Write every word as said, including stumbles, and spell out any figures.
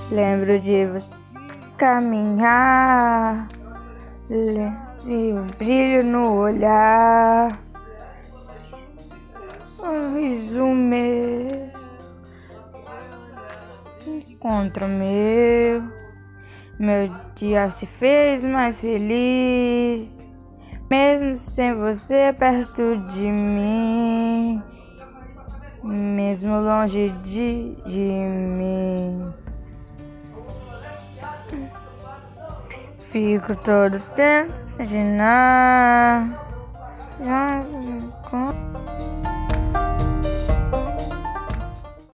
Lembro de você caminhar, e o brilho no olhar, um riso meu, encontro meu, meu dia se fez mais feliz, mesmo sem você perto de mim, mesmo longe de, de mim. Fico todo tempo imaginar. Já